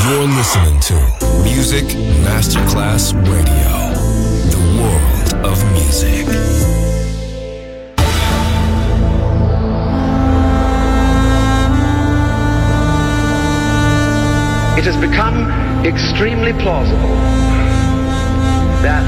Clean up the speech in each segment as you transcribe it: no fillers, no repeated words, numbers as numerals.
You're listening to Music Masterclass Radio, the world of music. It has become extremely plausible that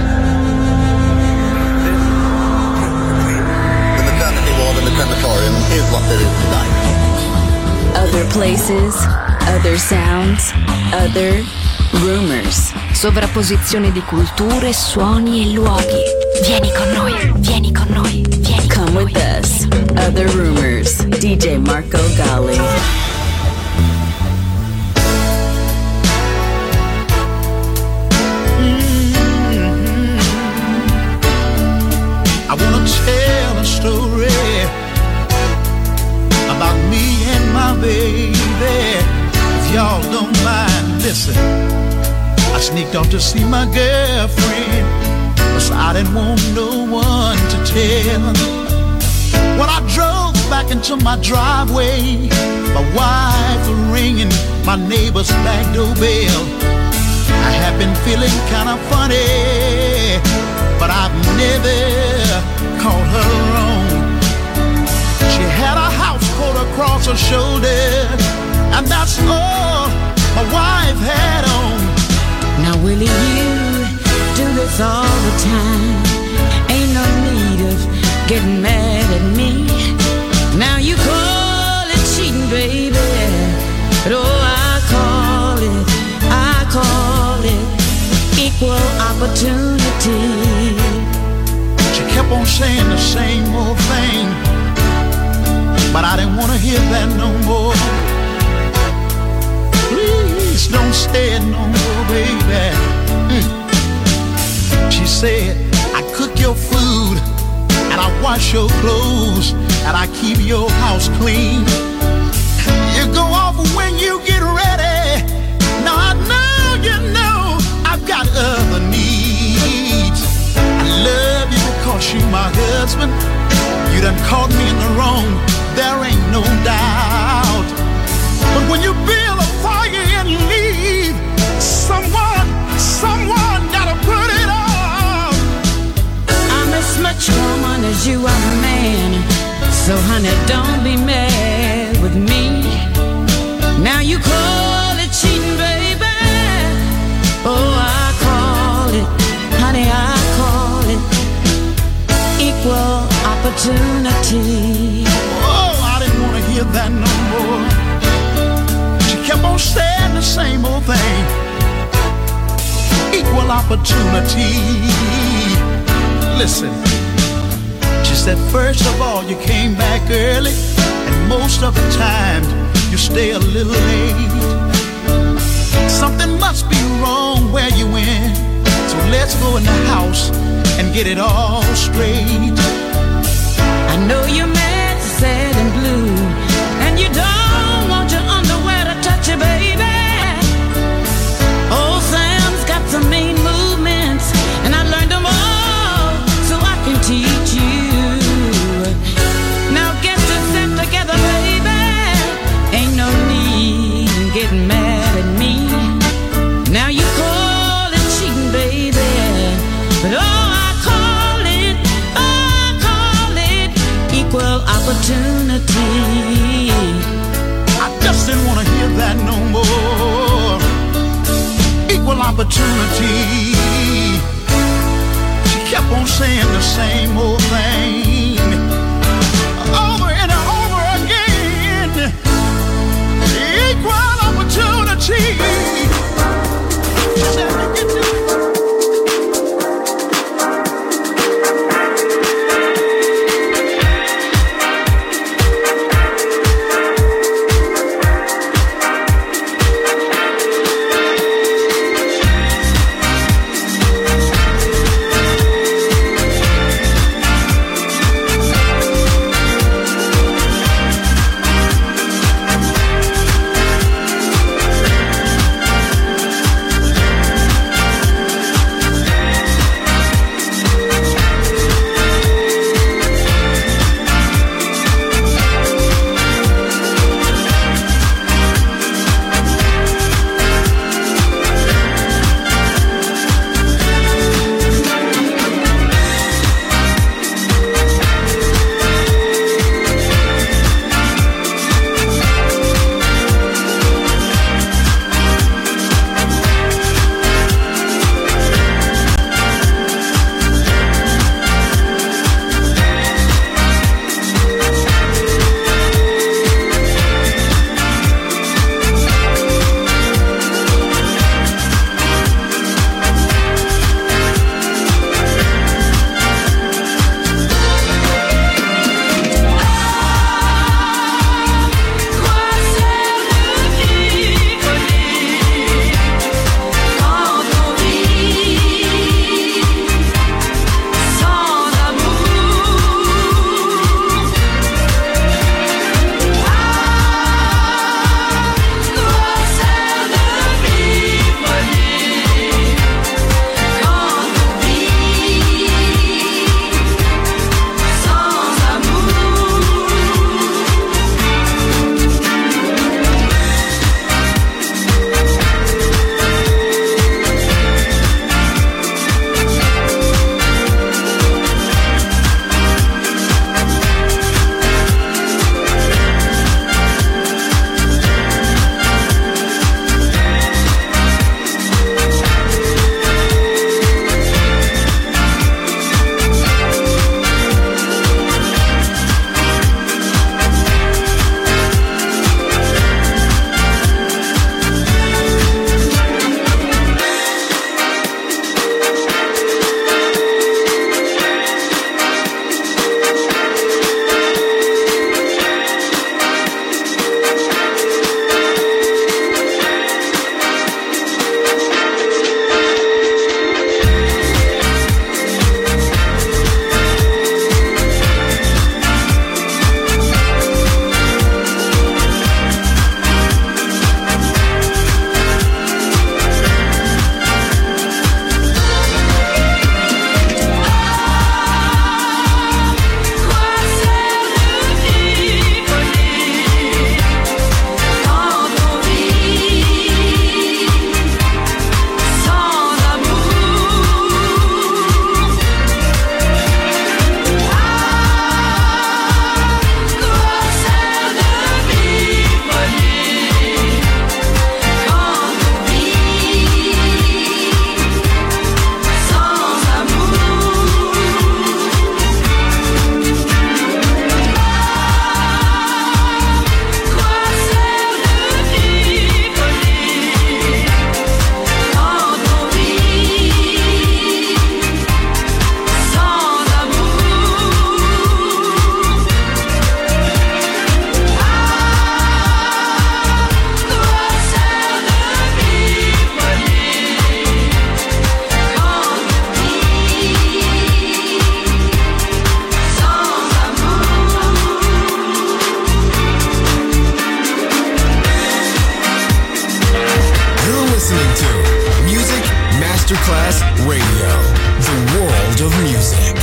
the maternity ward in the crematorium is what it is tonight. Other places, other sounds, other rumors. Sovrapposizione di culture, suoni e luoghi. Vieni con noi, vieni con noi, vieni con Come noi. with us. Other rumors. DJ Marco Gally. I wanna tell a story about me and my baby. If y'all don't mind, listen. I sneaked off to see my girlfriend, 'cause I didn't want no one to tell. When I drove back into my driveway, my wife was ringing my neighbor's back doorbell. I have been feeling kinda funny, but I've never called her wrong. She had a house coat across her shoulder, and that's all my wife had on. Now Willie, you do this all the time. Ain't no need of getting mad at me. Now you call it cheating, baby, but oh, I call it equal opportunity. She kept on saying the same old thing, but I didn't want to hear that no more. Please don't say it no more, baby. She said, I cook your food, and I wash your clothes, and I keep your house clean. You go off when you get ready. Now I know you know I've got other needs. I love you because you're my husband. You done caught me in the wrong, there ain't no doubt. But when you build a fire and leave, someone gotta put it out. I'm as much woman as you are man, so honey, don't be mad with me. Now you call it cheating, baby. Oh, I call it, honey, I call it equal opportunity. Oh, I didn't want to hear that no more. She kept on saying the same old thing. Equal opportunity. Listen, she said, first of all, you came back early, and most of the time, you stay a little late. Something must be wrong where you went, so let's go in the house and get it all straight. I know you're mad, sad and blue, and you don't want your underwear to touch you, baby. Old Sam's got some mean movements, and I learned them all so I can teach you. Now get yourself together, baby. Ain't no need in getting mad at me. Now you call it cheating, baby, but oh, I call it equal opportunity. I just didn't want to hear that no more. Equal opportunity. She kept on saying the same old thing over and over again. Equal opportunity. She said, look at you. listening to Music Masterclass Radio, the world of music.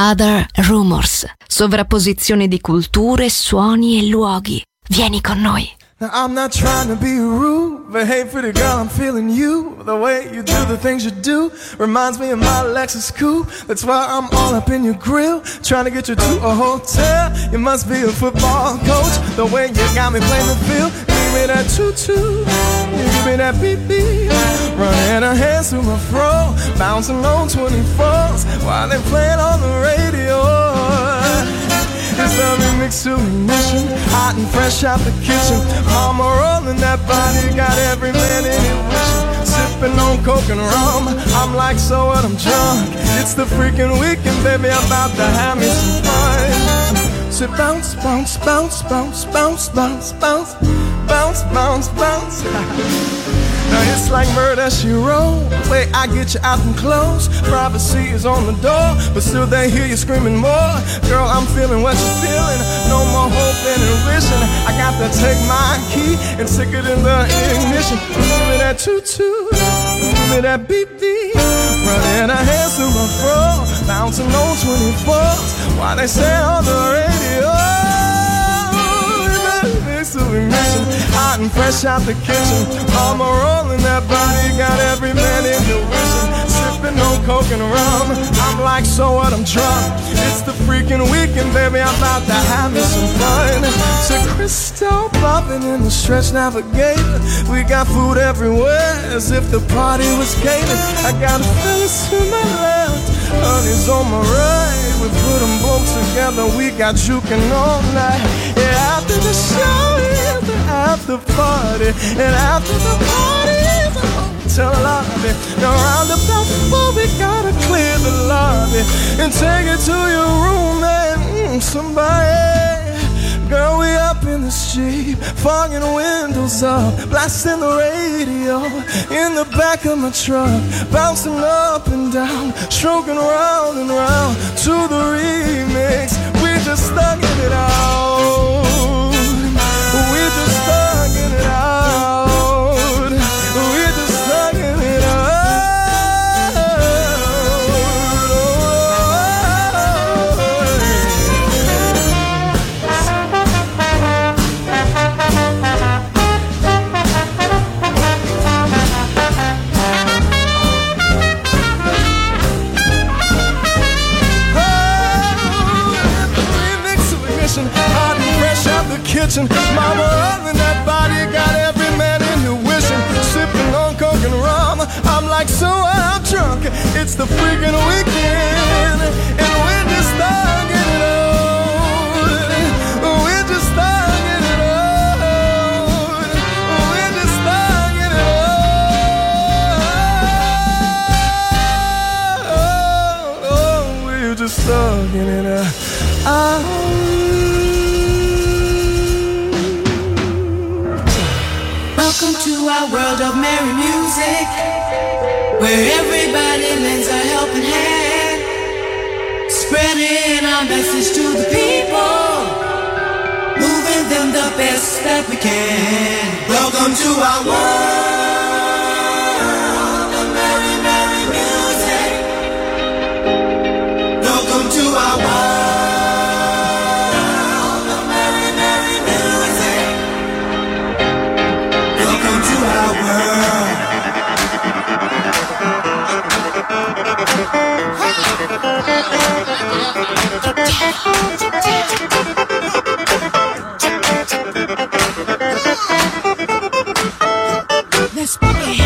Other Rumors. Sovrapposizione di culture, suoni e luoghi. Vieni con noi. Now I'm not trying to be rude, but hey pretty girl, I'm feeling you. The way you do the things you do reminds me of my Lexus coupe. That's why I'm all up in your grill, trying to get you to a hotel. You must be a football coach, the way you got me playing the field. Give me that choo-choo, you give me that beep-beep. Running her hands through my fro, bouncing on 24s while they playing on the radio. It's the remix to ignition, hot and fresh out the kitchen. Mama rolling that body, got every man in it wishing. Sipping on coke and rum, I'm like, so what, I'm drunk. It's the freaking weekend, baby, I'm about to have me some fun. So bounce, bounce, bounce, bounce, bounce, bounce, bounce, bounce, bounce, bounce. Now it's like murder, she wrote. Wait, I get you out and close. Privacy is on the door, but still they hear you screaming more. Girl, I'm feeling what you're feeling. No more hoping and wishing. I got to take my key and stick it in the ignition. Give me that choo-choo, give me that beep-beep. Running her hands through my fro, bouncing on 24s while they say on the radio. Hot and fresh out the kitchen. Mama rolling that body, got every man in the wishing. Sipping on coke and rum, I'm like, so what, I'm drunk. It's the freaking weekend, baby, I'm about to have me some fun. So Crystal popping in the Stretch Navigator. We got food everywhere, as if the party was catered. I got a fellas to my left, honey's on my right. We put them both together, we got juking all night. Yeah, after the show is the after party, and after the party is the hotel lobby. Now round about 4 we gotta clear the lobby and take it to your room and somebody. Girl, we up in the street, fogging windows up, blasting the radio in the back of my truck, bouncing up and down, stroking round and round to the remix. We just thugging it out. We just thugging it out. We just thugging it out. Hot and fresh out the kitchen. Mama running that body, got every man in here wishing. Sipping on coke and rum, I'm like, so I'm drunk. It's the freaking weekend, and we're just thugging it out. We're just thugging it out. We're just thugging it out. Oh, we're just thugging it out. Welcome to our world of merry music, where everybody lends a helping hand, spreading our message to the people, moving them the best that we can. Welcome to our world of merry, merry music. Welcome to our world. Let's begin.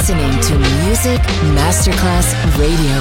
listening to Music Masterclass Radio.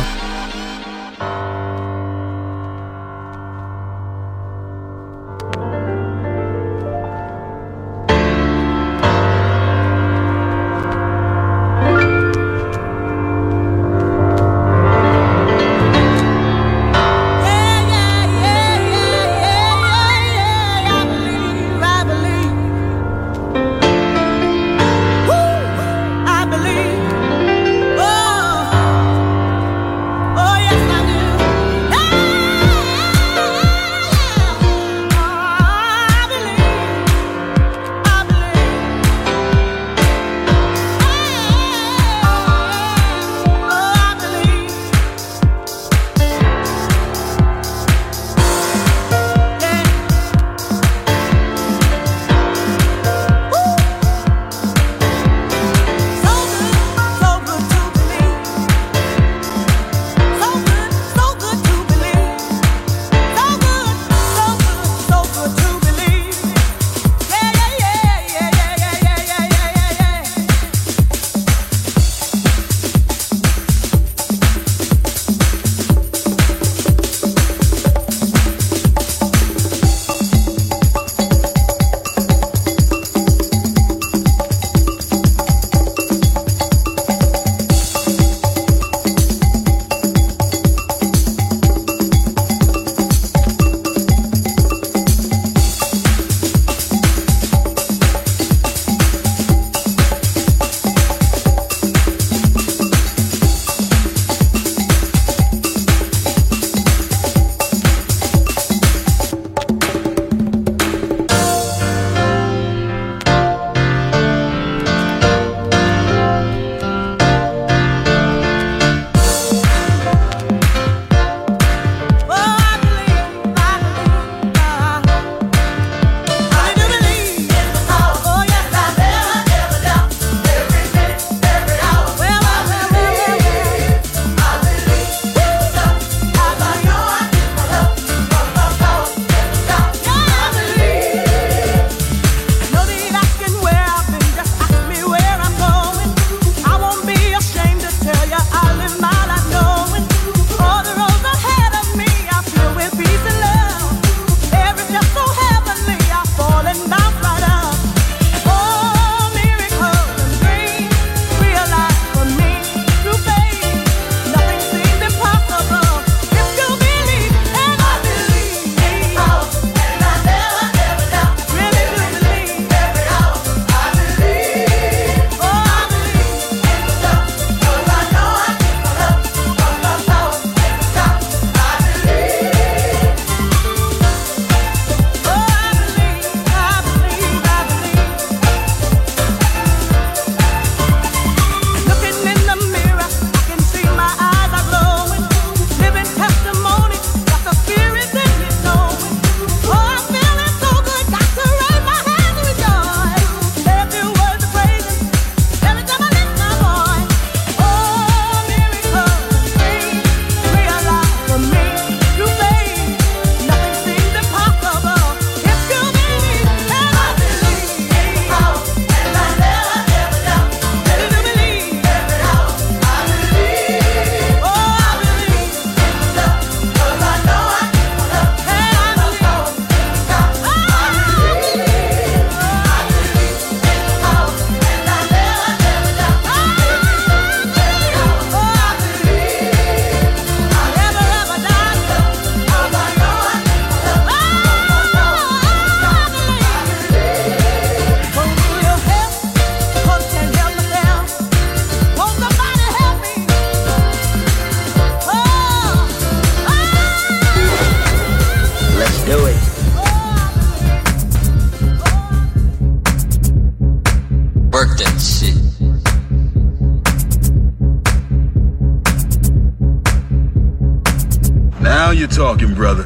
you're talking, brother.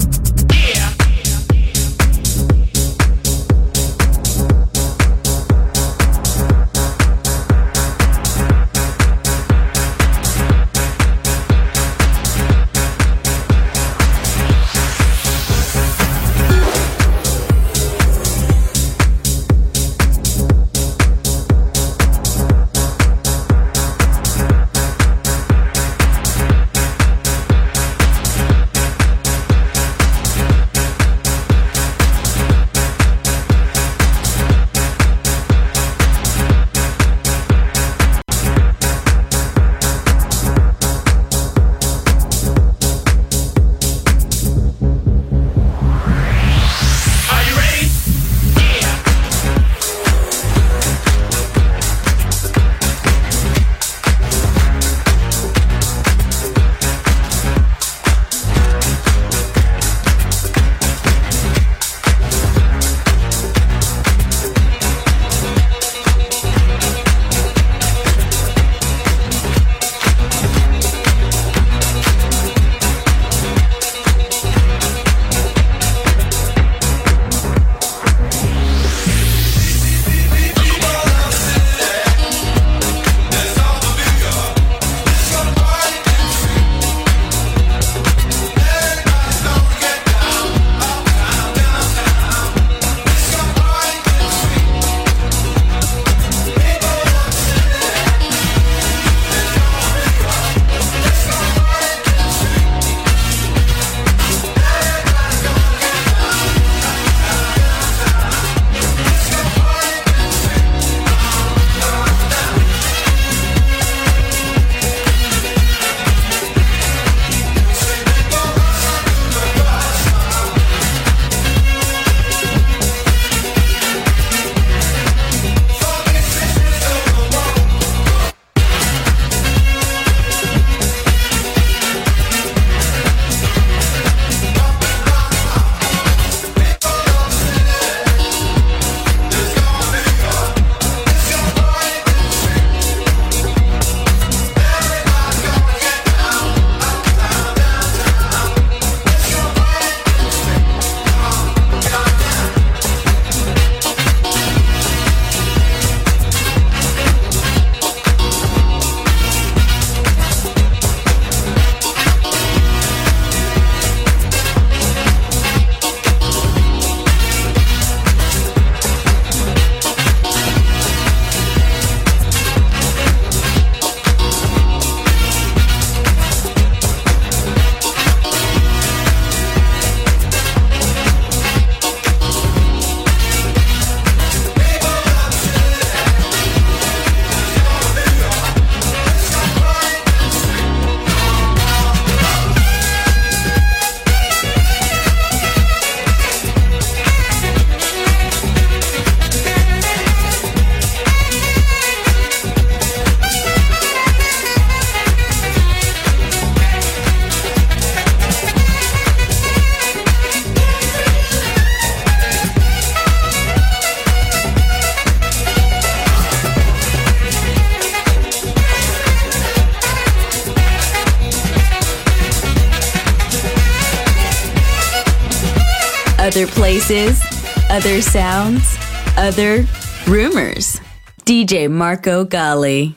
Other places, other sounds, other rumors. DJ Marco Gally.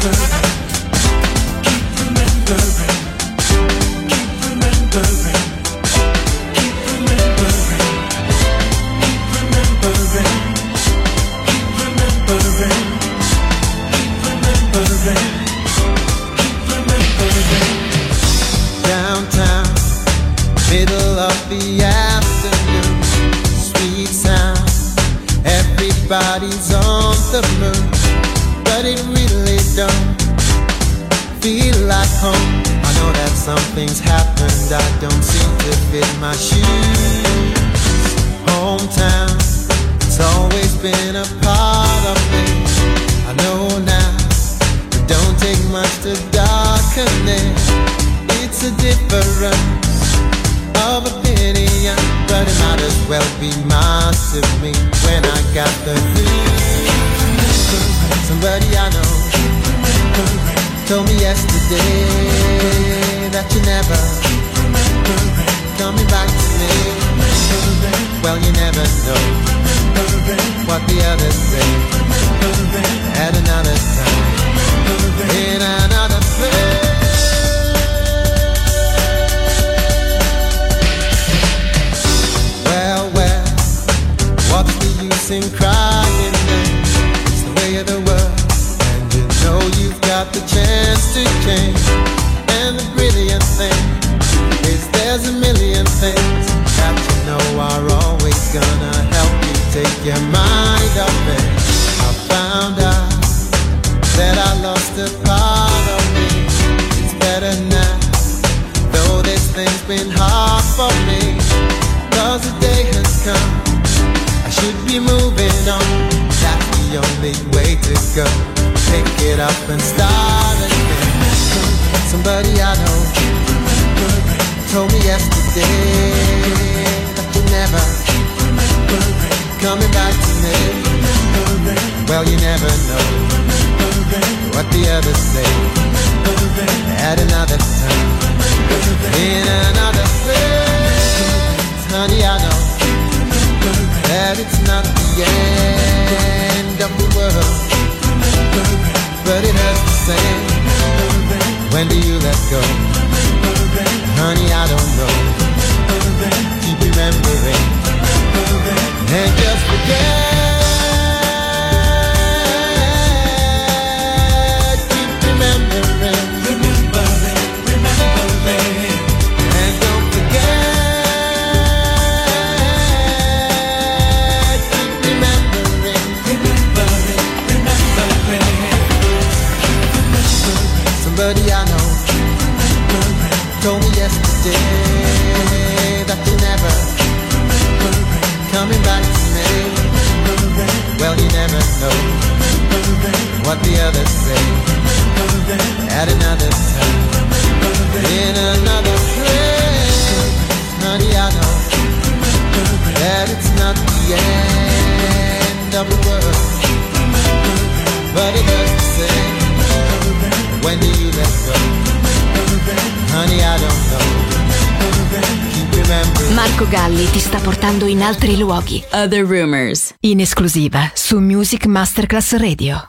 Downtown, middle of the afternoon, sweet sound, everybody's on the move, but it really don't feel like home. I know that something's happened, I don't seem to fit my shoes. Hometown, it's always been a part of me. I know now, it don't take much to darken it. It's a difference of opinion, but it might as well be mine to me when I got the news. Somebody I know told me yesterday that you never coming back to me. Well, you never know what the others say at another time, in another place. What's the use in crying then? It's the way of the world, and you know you've got the chance to change. And the brilliant thing is there's a million things that you know are always gonna help you take your mind off it. I found out that I lost a part of me. It's better now, though this thing's been hard for me, 'cause the day has come, should be moving on. That's the only way to go. Pick it up and start again. Somebody I know told me yesterday that you never coming back to me. Well, you never know what the others say at another time, in another place. Honey, I know that it's not the end of the world, but it hurts the same. When do you let go? Honey, I don't know. Keep remembering and just forget. Keep remembering, and don't forget. Somebody I know told me yesterday that you never coming back to me. Well, you never know what the others say at another time, in another place. Honey, I know that it's not the end of the world, but it does the same. When do you let go? Honey, I don't know. Keep remembering. Marco Galli ti sta portando in altri luoghi. Other Rumors, In esclusiva su Music Masterclass Radio.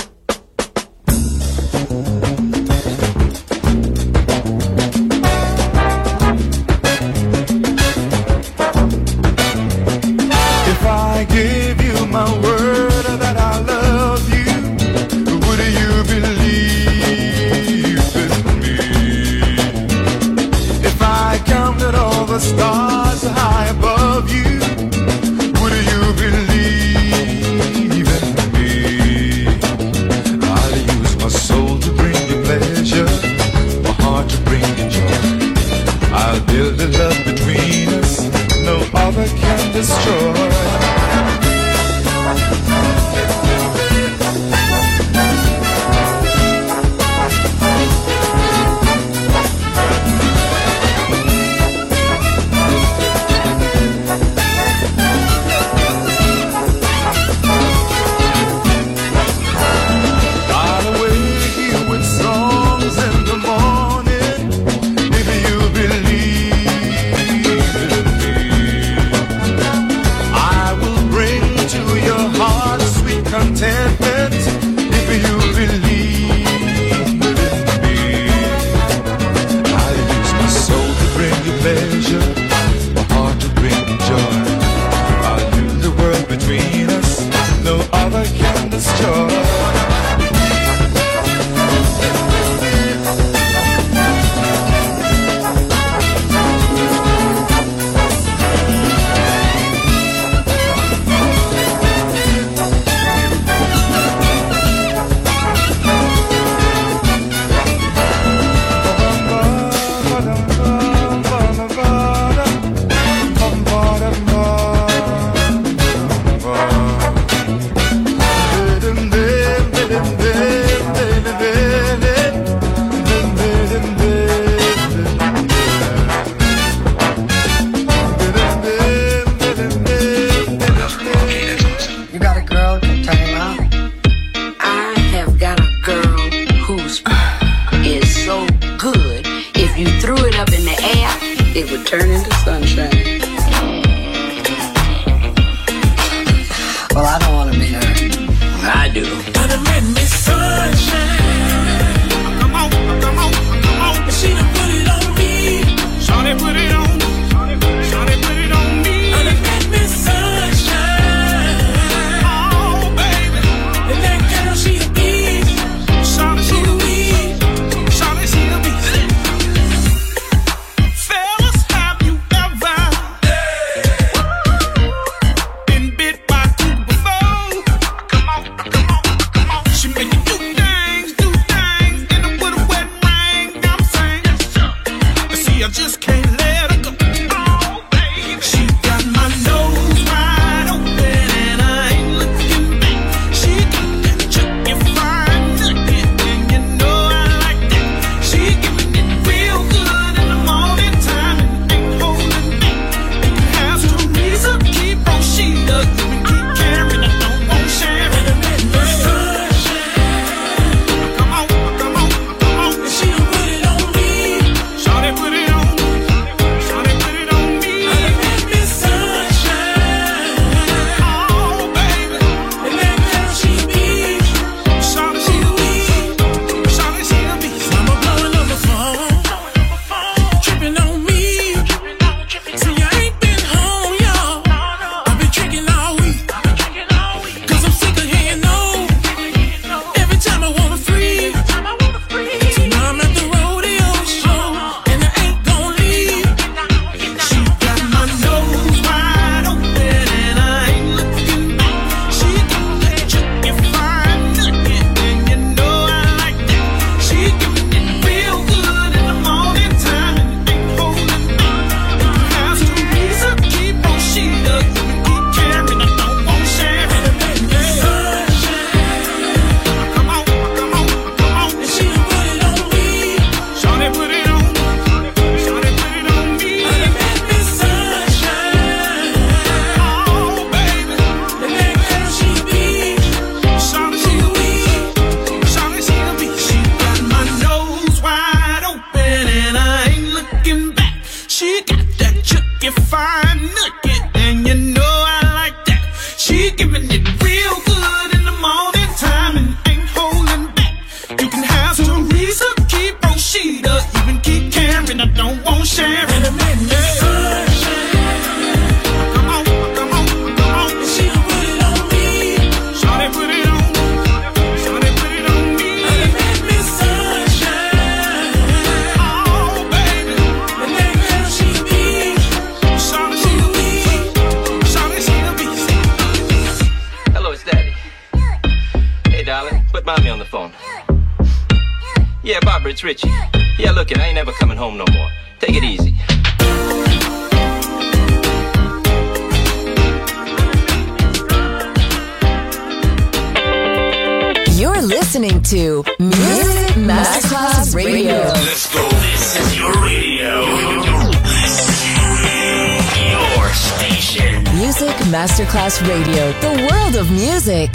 If I give you my word that I love you, would you believe in me? If I counted all the stars high above you, would you believe in me? I'll use my soul to bring you pleasure, my heart to bring you joy. I'll build a love between us no other can destroy. turn into sunshine. Well, I don't want to meet her. I do. Gonna make me sunshine. Come on, come on, come on. And she done put it on me. Shawty put it on. Shawty put it on me. Gonna make me sunshine. Oh, baby. And that girl, she a beast. Shawty, she a beast. Shawty, she a beast. Fellas, have you ever been bit by a cougar before? Come on, come on, come on. She make you do things in the with a wet ring. I'm saying, see, I just can't let her go. Oh, baby. She got my nose wide open and I ain't looking back. She got that chucky fine nugget and you know I like that. She giving it real good in the morning time and ain't holding back. And you have to reason, keep on she does and keep caring. I don't want sharing. Come on, come on, come on. And she done put it on me. Shawty put it on. Shawty put it on me. Gonna make me sunshine. Oh, baby. And that girl, she a beast. Shawty, she a beast. Shawty, she a beast. Mama blowing up the phone. Tripping on me. See, I ain't been home, y'all. I've been drinking all week. Cause I'm sick of hearing no. Every time I wanna free. So now I'm at the rodeo show. And I ain't gon' leave. She got my nose wide open and I ain't looking back. She got that chucky fine nugget and you know I like that. She giving it real good in the morning time and ain't holding back. Has to reason, keep on she does and keep caring. I don't want sharing. Come on, come on, come on. And she done put it on me. Shawty put it on. Shawty put it on me. Gonna make me sunshine. Oh, baby. And that girl, she a beast. Shawty, she a beast. Shawty, she a beast. She got my nose wide open and I ain't looking back. She got that chucky fine nugget and you know I like that. She giving it real good in the morning time and ain't holding back. You can have some reason, keep on she does, even keep caring. I don't want sharing. Come on, come on, come on. And she done put it on me. Shawty put it on. Shawty put it on me. Gonna make me sunshine. Oh, baby. And that girl, she a beast. Shawty, she a beast. Shawty, she a beast. Hello, it's Daddy. Hey, darling, put mommy on the phone. Yeah, Barbara, it's Richie. Yeah, look, I ain't never coming home no more. Take it easy. You're listening to Music Masterclass Radio. Let's go. This is your radio. Your station. Music Masterclass Radio, the world of music.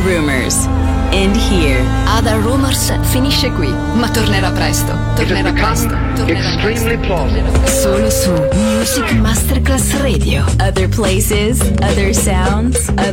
Rumors. End here. Other Rumors finisce qui, ma tornerà presto. Tornerà presto. Extremely plausible. Solo su Music Masterclass Radio. Other places, other sounds, other